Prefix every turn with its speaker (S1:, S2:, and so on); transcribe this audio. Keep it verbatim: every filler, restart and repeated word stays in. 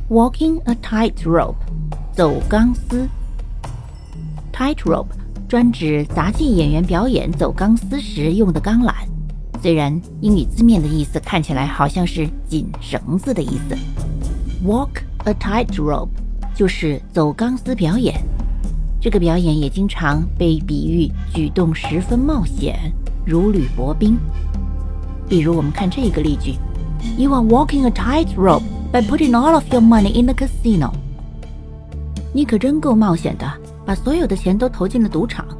S1: Walking a tightrope， 走钢丝。Tightrope 专指杂技演员表演走钢丝时用的钢缆，虽然英语字面的意思看起来好像是紧绳子的意思。Walk a tightrope 就是走钢丝表演，这个表演也经常被比喻举动十分冒险，如履薄冰。比如我们看这个例句 You are walking a tightrope by putting all of your money in the casino。 你可真够冒险的，把所有的钱都投进了赌场。